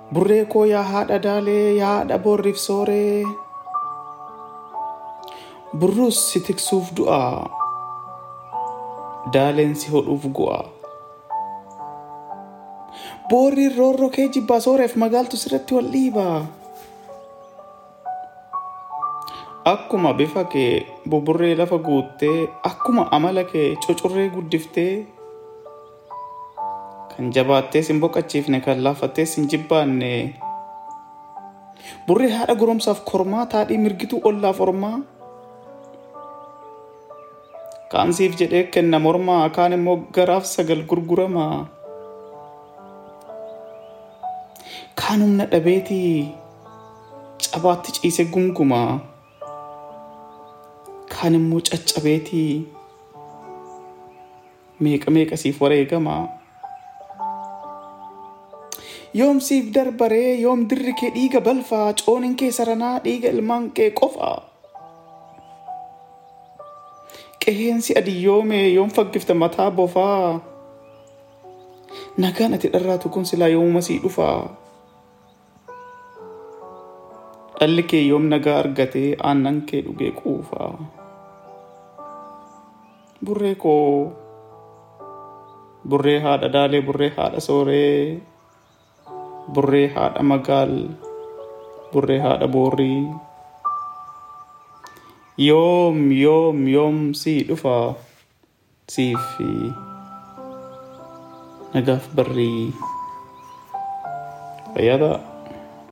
Burree koo yaa haadha daalee yaa haadha boorriif sooree. Burruus si tiksuuf du'a. Daaleen si hodhuuf gu'a. Boorriin roorroo kee jibbaa sooreef magaaltu sirratti wal dhiiba. Akkuma bifa kee buburree lafa guuttee akkuma amala kee cucurree guddiftee kan jabaattee sin boqachiifne kan laafattee sin jibbaanne burree haadha goromsaaf kormaa taadhii mirgituu ollaaf ormaa kaan siif jedhee kenna mormaa kaan immoo garaaf sagal gurguramaa kaan humna dhabeetii cabaatti ciise gungumaa kaan immoo caccabeetii meeqa siif wareegamaa. Yoom siif darbaree yoom dirri kee dhiiga balfaa coonin kee saranaa dhiiga ilmaan kee qofaa. Qeheensi adiyyoome yoom faggifta mataa bofaa. Nagaan ati dharraatu kun silaa yooma sii dhufaa. Dhalli kee yoom nagaa argatee aannan kee dhugee quufaa. Burree koo burree haadha daalee burree haadha sooree. Burree haadha magaal burree haadha boorrii. Yoom sii dhufa siifi nagaaf barrii. Fayyadaa.